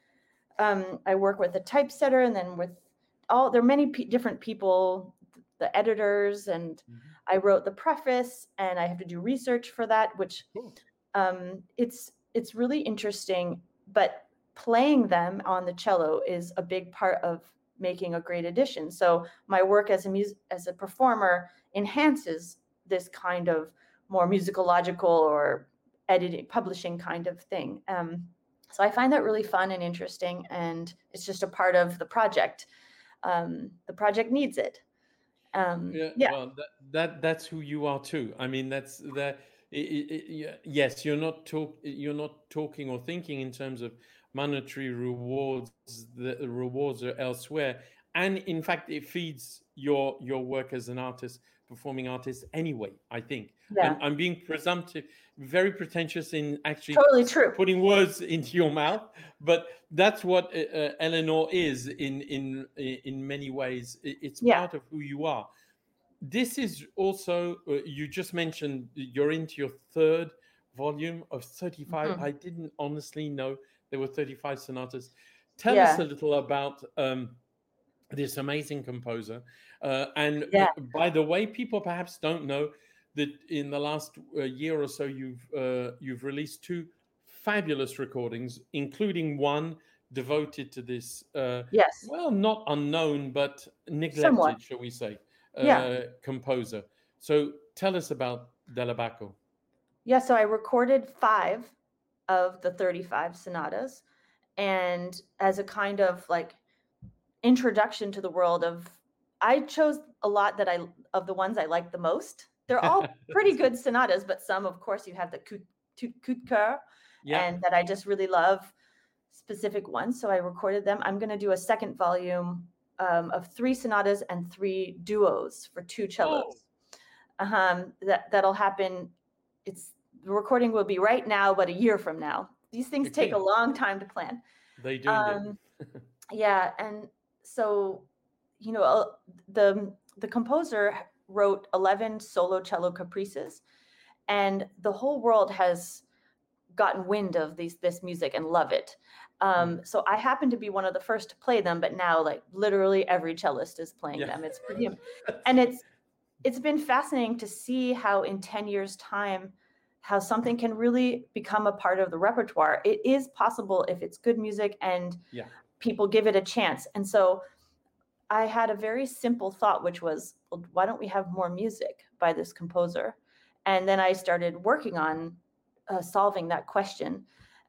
I work with a typesetter, and then there are many different people, the editors, and Mhm. I wrote the preface, and I have to do research for that, which Cool. it's really interesting. But playing them on the cello is a big part of making a great edition. So my work as a performer enhances this kind of more musicological or editing, publishing kind of thing. So I find that really fun and interesting, and it's just a part of the project. The project needs it. Yeah, Yeah, well, that's who you are too. I mean, that's that. Yes, you're not talking or thinking in terms of monetary rewards. The rewards are elsewhere, and in fact, it feeds your work as an artist, performing artist. Anyway, I think yeah, I'm being presumptive, very pretentious in actually totally true. putting words into your mouth, but that's what Eleanor is in many ways. It's Yeah. part of who you are. This is also, you just mentioned you're into your third volume of 35. Mhm. I didn't honestly know there were 35 sonatas. Tell us Yeah, a little about this amazing composer. And yeah, by the way, people perhaps don't know that in the last year or so, you've released two fabulous recordings, including one devoted to this, yes, well, not unknown, but somewhat. neglected, shall we say, Yeah, composer. So tell us about Dell'Abaco. yeah. So I recorded 5 of the 35 sonatas, and as a kind of like introduction to the world of, I chose a lot of the ones I like the most. They're all pretty good sonatas, but some, of course, you have the coup de coeur, Yeah. and that I just really love specific ones. So I recorded them. I'm going to do a second volume of 3 sonatas and 3 duos for 2 Oh, cellos. That'll happen. The recording will be right now, but a year from now. These things take a okay. long time to plan. They do indeed. Um, yeah, and so you know, uh, the composer wrote 11 solo cello caprices, and the whole world has gotten wind of this music and love it. Mhm. So I happen to be one of the first to play them, but now like literally every cellist is playing Yeah. them. It's pretty, and it's been fascinating to see how in 10 years time, how something can really become a part of the repertoire. It is possible if it's good music and Yeah. people give it a chance. And so I had a very simple thought, which was, well, why don't we have more music by this composer? And then I started working on solving that question.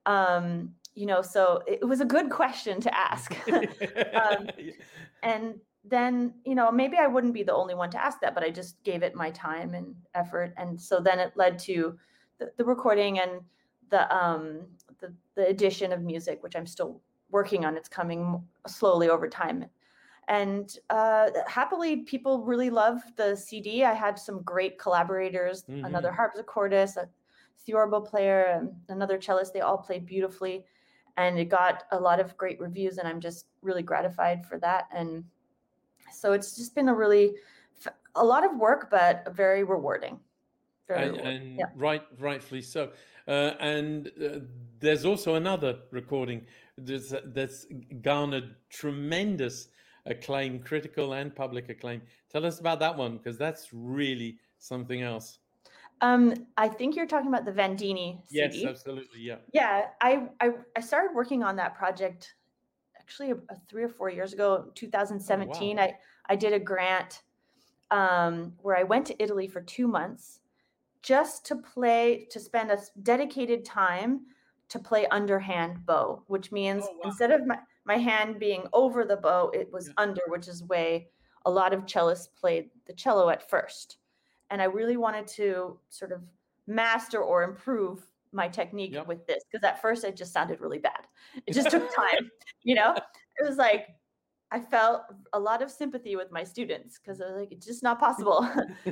So it was a good question to ask. um, and then, maybe I wouldn't be the only one to ask that, but I just gave it my time and effort. And so then it led to the recording and the addition of music, which I'm still working on. It's coming slowly over time. And happily, people really love the CD. I had some great collaborators, another Mhm. harpsichordist, a theorbo player, and another cellist. They all played beautifully, and it got a lot of great reviews, and I'm just really gratified for that. And so it's just been a lot of work, but very rewarding. Very rewarding. And Yeah. rightfully so. And there's also another recording that's garnered tremendous acclaim, critical and public acclaim. Tell us about that one, because that's really something else. I think you're talking about the Vandini Yes, CD. absolutely. Yeah. Yeah, I started working on that project actually 3 or 4 years ago, Oh, 2017. wow. I did a grant where I went to Italy for 2 months just to spend a dedicated time to play underhand bow, which means Oh, wow. instead of my hand being over the bow, it was Yeah. under, which is way a lot of cellists played the cello at first. And I really wanted to sort of master or improve my technique Yep. with this, because at first it just sounded really bad. It just took time, you know? It was like I felt a lot of sympathy with my students because I was like, it's just not possible.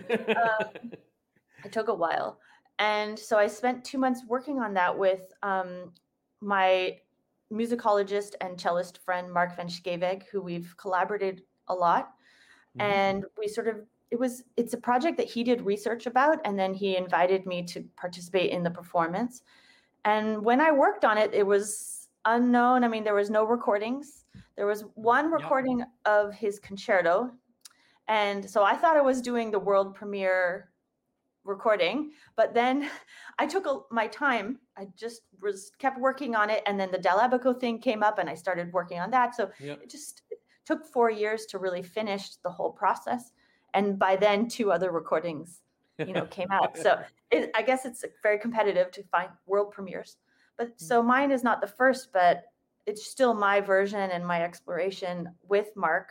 It took a while. And so I spent 2 months working on that with my musicologist and cellist friend, Mark van Scheveg, who we've collaborated a lot. Mhm. And we sort of it's a project that he did research about, and then he invited me to participate in the performance. And when I worked on it, it was unknown. I mean, there was no recordings. There was one recording of his concerto. And so I thought I was doing the world premiere recording, but then I took my time. I just kept working on it. And then the Del Abaco thing came up and I started working on that. So it just took 4 years to really finish the whole process. And by then 2 other recordings, came out. So I guess it's very competitive to find world premieres. But so mine is not the first, but it's still my version and my exploration with Mark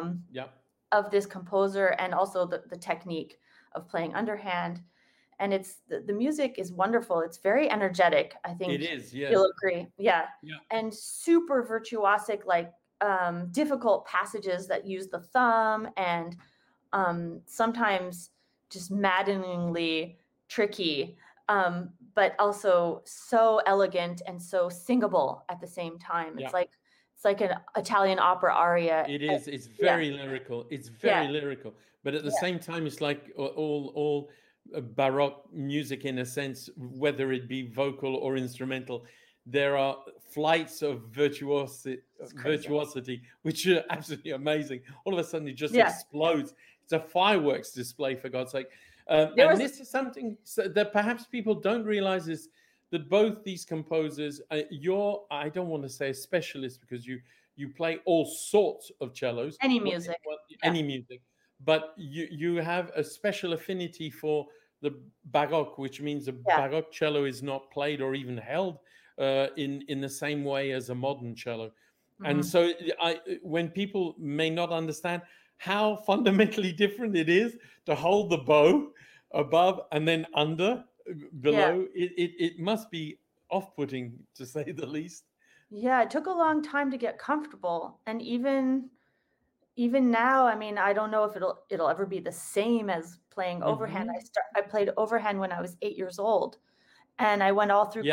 of this composer, and also the technique of playing underhand. And it's the music is wonderful. It's very energetic. I think it is. Yeah, you'll agree. Yeah. And super virtuosic, like difficult passages that use the thumb, and sometimes just maddeningly tricky, but also so elegant and so singable at the same time. It's like an Italian opera aria. It is. It's very lyrical. It's very lyrical, but at the same time, it's like all Baroque music in a sense, whether it be vocal or instrumental. There are flights of virtuosity, which are absolutely amazing. All of a sudden, it just explodes. It's a fireworks display, for God's sake. And this is something that perhaps people don't realize, is that both these composers, I don't want to say a specialist, because you play all sorts of cellos. Any music. Any music. But you have a special affinity for the Baroque, which means a Baroque cello is not played or even held in the same way as a modern cello. Mm-hmm. And so when people may not understand how fundamentally different it is to hold the bow above and then below, it must be off-putting, to say the least. Yeah, it took a long time to get comfortable. And even now, I mean, I don't know if it'll ever be the same as playing overhand. I played overhand when I was 8 years old, and I went all through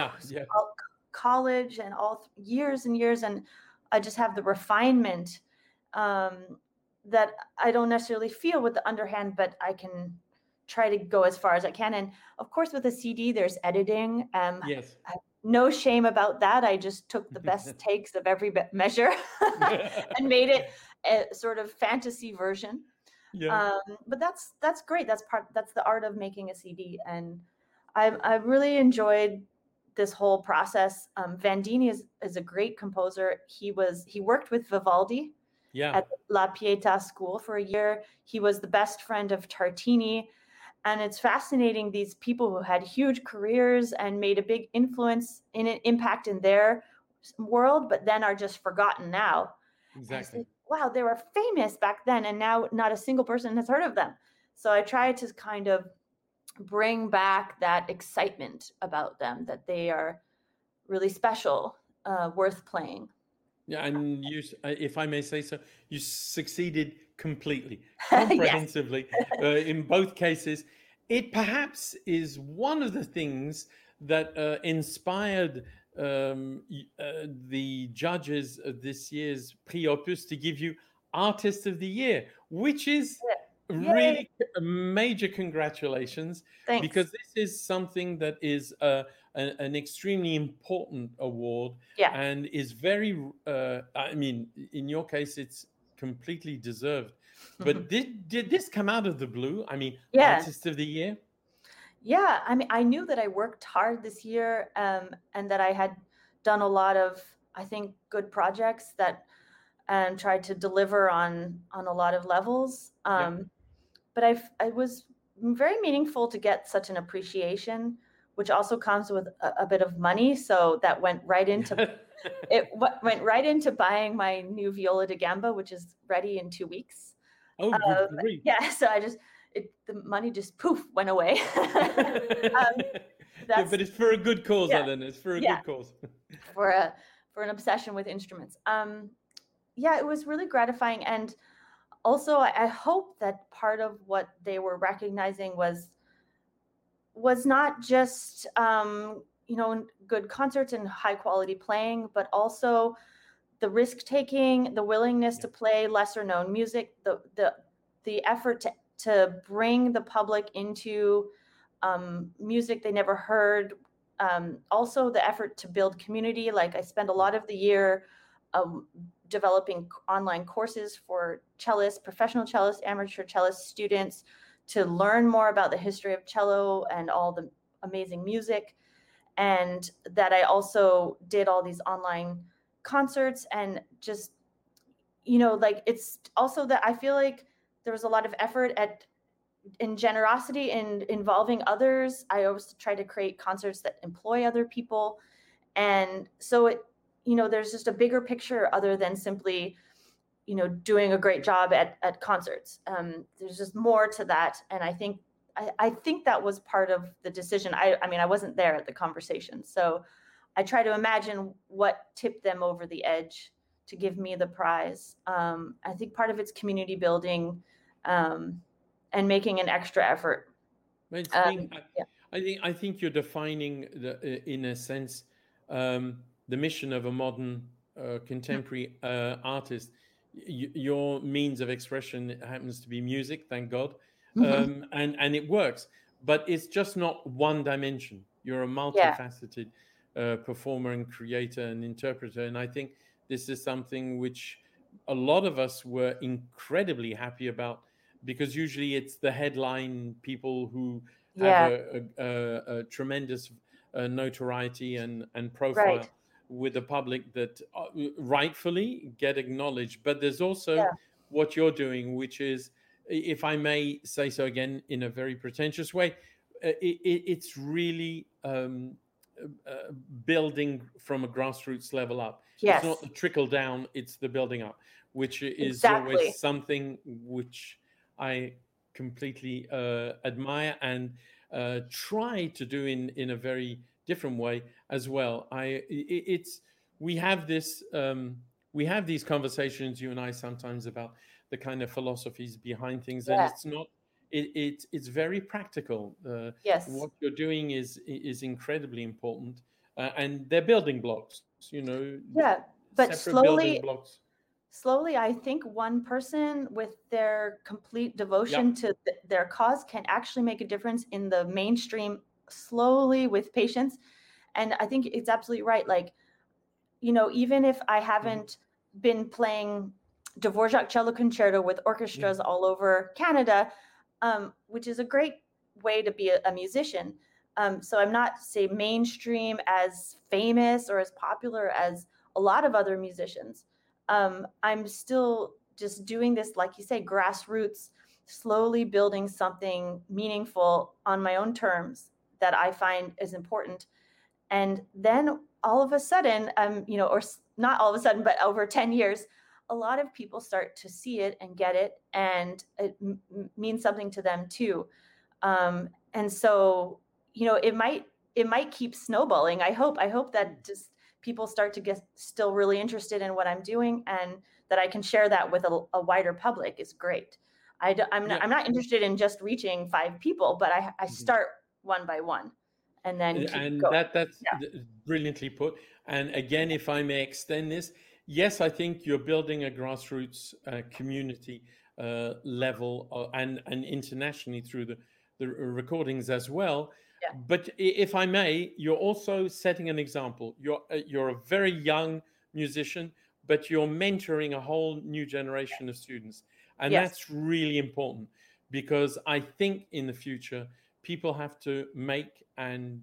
college and years and years, and I just have the refinement that I don't necessarily feel with the underhand, but I can try to go as far as I can. And of course, with a CD, there's editing. No shame about that. I just took the best takes of every measure and made it a sort of fantasy version. But that's great. That's the art of making a CD. And I really enjoyed this whole process. Vandini is a great composer. He worked with Vivaldi at La Pietà School for a year. He was the best friend of Tartini. And it's fascinating, these people who had huge careers and made a big impact in their world, but then are just forgotten now. Exactly. Wow, they were famous back then, and now not a single person has heard of them. So I try to kind of bring back that excitement about them, that they are really special, worth playing. Yeah, and you, if I may say so, you succeeded completely, comprehensively in both cases. It perhaps is one of the things that inspired the judges of this year's Prix Opus to give you Artist of the Year, which is really a major congratulations. Thanks. Because this is something that is an extremely important award, and is very, I mean, in your case, it's completely deserved. But did this come out of the blue? I mean, Artist of the Year? Yeah, I mean, I knew that I worked hard this year, and that I had done a lot of, I think, good projects that tried to deliver on a lot of levels. But I was very meaningful to get such an appreciation, which also comes with a bit of money. So that went right into went right into buying my new viola da gamba, which is ready in 2 weeks. Oh, good grief. Yeah, so the money just poof went away. But it's for a good cause, Ellen. It's for a good cause. for an obsession with instruments. It was really gratifying, and also I hope that part of what they were recognizing was not just good concerts and high quality playing, but also the risk taking, the willingness to play lesser known music, the effort to bring the public into music they never heard. Also, the effort to build community. Like I spend a lot of the year developing online courses for cellists, professional cellists, amateur cellist students to learn more about the history of cello and all the amazing music. And that I also did all these online concerts and just, like it's also that I feel like there was a lot of effort in generosity and involving others. I always try to create concerts that employ other people. And so there's just a bigger picture other than simply, doing a great job at concerts. There's just more to that. And I think that was part of the decision. I mean, I wasn't there at the conversation. So I try to imagine what tipped them over the edge to give me the prize. I think part of it's community building, and making an extra effort. Yeah. I think you're defining in a sense the mission of a modern contemporary artist. Your means of expression happens to be music, thank God, and it works. But it's just not one dimension. You're a multifaceted performer and creator and interpreter, and I think this is something which a lot of us were incredibly happy about. Because usually it's the headline people who have a tremendous notoriety and profile with the public that rightfully get acknowledged. But there's also what you're doing, which is, if I may say so again in a very pretentious way, it's really building from a grassroots level up. Yes. It's not the trickle down, it's the building up, which is always something which I completely admire and try to do in a very different way as well. We have these conversations, you and I, sometimes about the kind of philosophies behind things, and it's not. It's very practical. Yes. What you're doing is incredibly important, and they're building blocks. Yeah, but building blocks. Slowly, I think one person with their complete devotion to their cause can actually make a difference in the mainstream, slowly, with patience. And I think it's absolutely right. Like, even if I haven't been playing Dvorak cello concerto with orchestras all over Canada, which is a great way to be a musician. So I'm not, say, mainstream as famous or as popular as a lot of other musicians. I'm still just doing this, like you say, grassroots, slowly building something meaningful on my own terms that I find is important. And then all of a sudden, or not all of a sudden, but over 10 years, a lot of people start to see it and get it, and it means something to them too. And so, it might keep snowballing. I hope that just people start to get still really interested in what I'm doing, and that I can share that with a wider public is great. I'm not interested in just reaching 5 people, but I start one by one, and then keep going. That's brilliantly put. And again, if I may extend this, yes, I think you're building a grassroots community level and internationally through the recordings as well. Yeah. But if I may, you're also setting an example. You're a very young musician, but you're mentoring a whole new generation of students. And that's really important, because I think in the future, people have to make and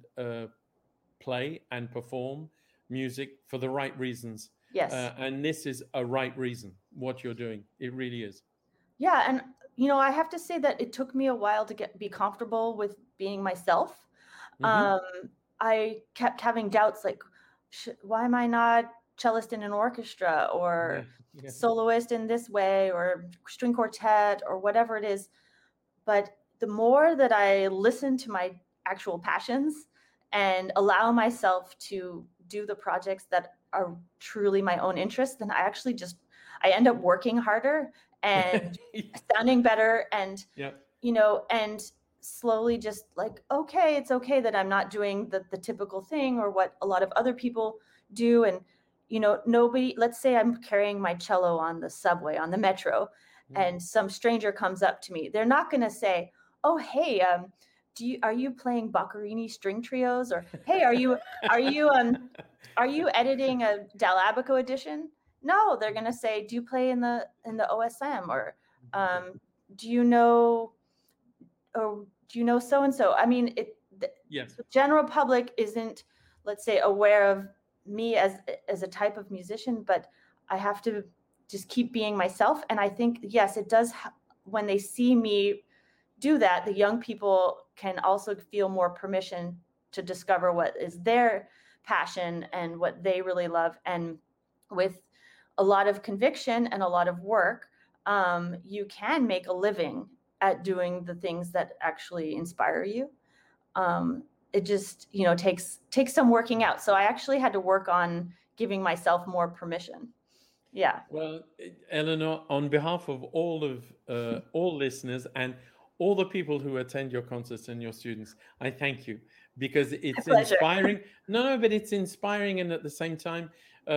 play and perform music for the right reasons. Yes. And this is a right reason, what you're doing. It really is. Yeah. And, I have to say that it took me a while to be comfortable with being myself. I kept having doubts, like, why am I not cellist in an orchestra or soloist in this way or string quartet or whatever it is. But the more that I listen to my actual passions and allow myself to do the projects that are truly my own interest, then I end up working harder and sounding better and, and slowly just like, okay, it's okay that I'm not doing the typical thing or what a lot of other people do. And, nobody, let's say I'm carrying my cello on the subway, on the metro, and some stranger comes up to me. They're not going to say, "Oh, hey, are you playing Boccherini string trios?" Or, "Hey, are you editing a Dal Abaco edition?" No, they're going to say, "Do you play in the OSM?" Or, do you know so and so? I mean, Yes. the general public isn't, let's say, aware of me as a type of musician, but I have to just keep being myself. And I think, yes, it does. When they see me do that, the young people can also feel more permission to discover what is their passion and what they really love. And with a lot of conviction and a lot of work, you can make a living at doing the things that actually inspire you. It just, takes some working out. So I actually had to work on giving myself more permission. Yeah. Well, Eleanor, on behalf of all listeners and all the people who attend your concerts and your students, I thank you, because it's inspiring. No, but it's inspiring, and at the same time,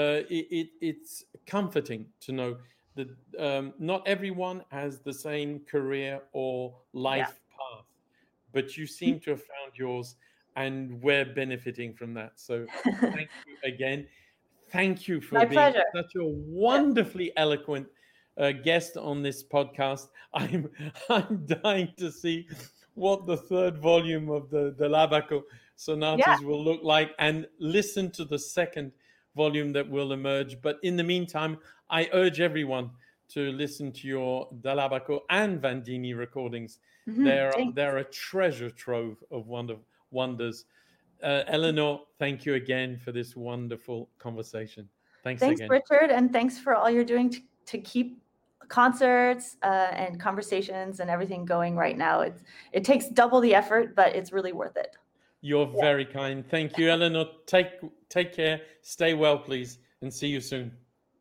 it's comforting to know that not everyone has the same career or life path, but you seem to have found yours, and we're benefiting from that. So thank you again. Thank you for being such a wonderfully eloquent guest on this podcast. I'm dying to see what the third volume of the Dal Abaco sonatas will look like, and listen to the second volume that will emerge. But in the meantime, I urge everyone to listen to your Dal Abaco and Vandini recordings. They're a treasure trove of wonders. Eleanor, thank you again for this wonderful conversation. Thanks again. Thanks, Richard, and thanks for all you're doing to keep concerts and conversations and everything going right now. It takes double the effort, but it's really worth it. You're very kind. Thank you, Eleanor. Take care. Stay well, please, and see you soon.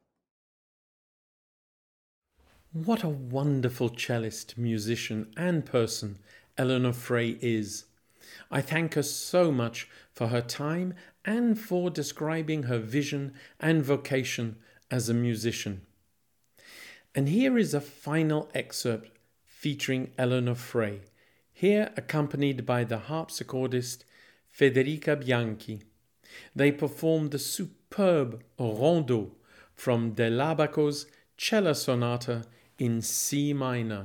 What a wonderful cellist, musician, and person Eleanor Frey is. I thank her so much for her time and for describing her vision and vocation as a musician. And here is a final excerpt featuring Eleanor Frey, here accompanied by the harpsichordist Federica Bianchi. They performed the superb Rondeau from Dal Abaco's Cello Sonata in C minor.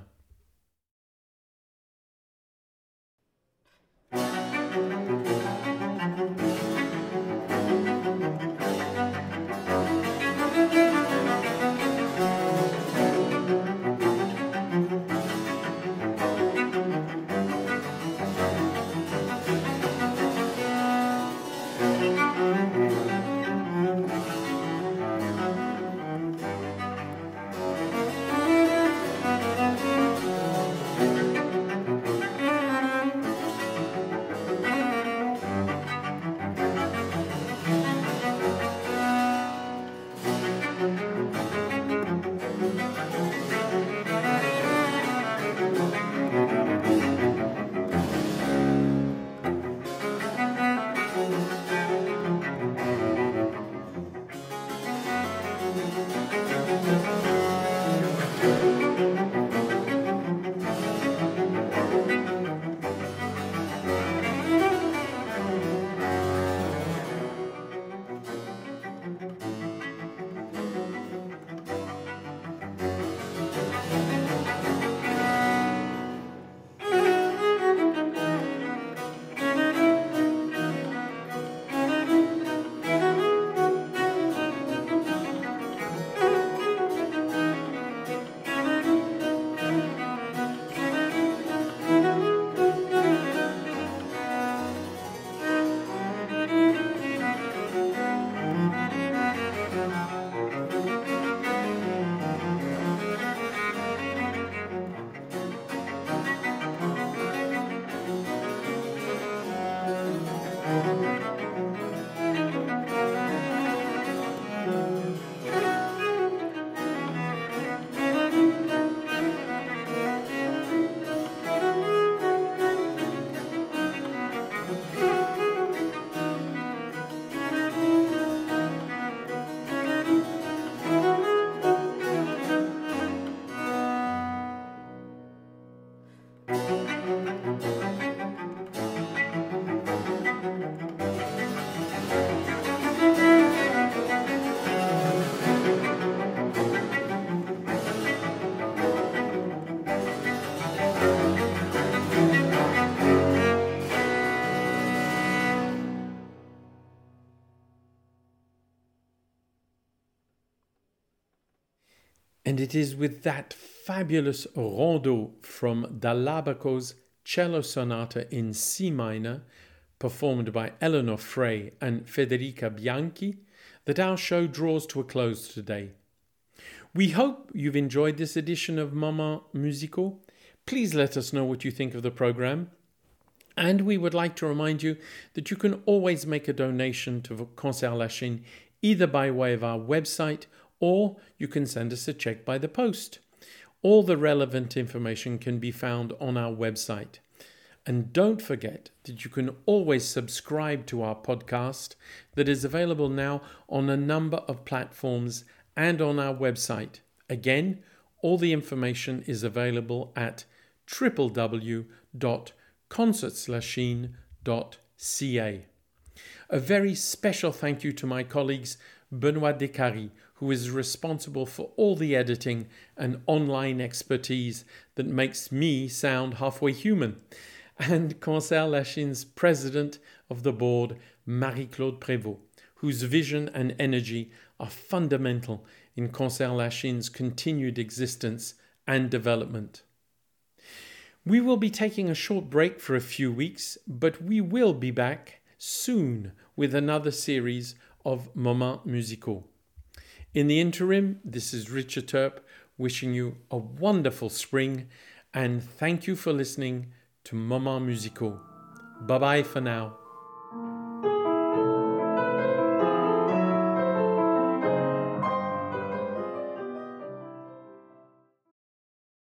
And it is with that fabulous rondo from Dall'Abaco's Cello Sonata in C minor, performed by Eleanor Frey and Federica Bianchi, that our show draws to a close today. We hope you've enjoyed this edition of Moments Musicaux. Please let us know what you think of the program. And we would like to remind you that you can always make a donation to Concert Lachine either by way of our website or you can send us a check by the post. All the relevant information can be found on our website. And don't forget that you can always subscribe to our podcast that is available now on a number of platforms and on our website. Again, all the information is available at www.concertslachine.ca. A very special thank you to my colleagues Benoit Descaries, who is responsible for all the editing and online expertise that makes me sound halfway human, and Concert Lachine's president of the board, Marie-Claude Prévost, whose vision and energy are fundamental in Concert Lachine's continued existence and development. We will be taking a short break for a few weeks, but we will be back soon with another series of Moments Musicaux. In the interim, this is Richard Turp wishing you a wonderful spring and thank you for listening to Moments Musicaux. Bye-bye for now.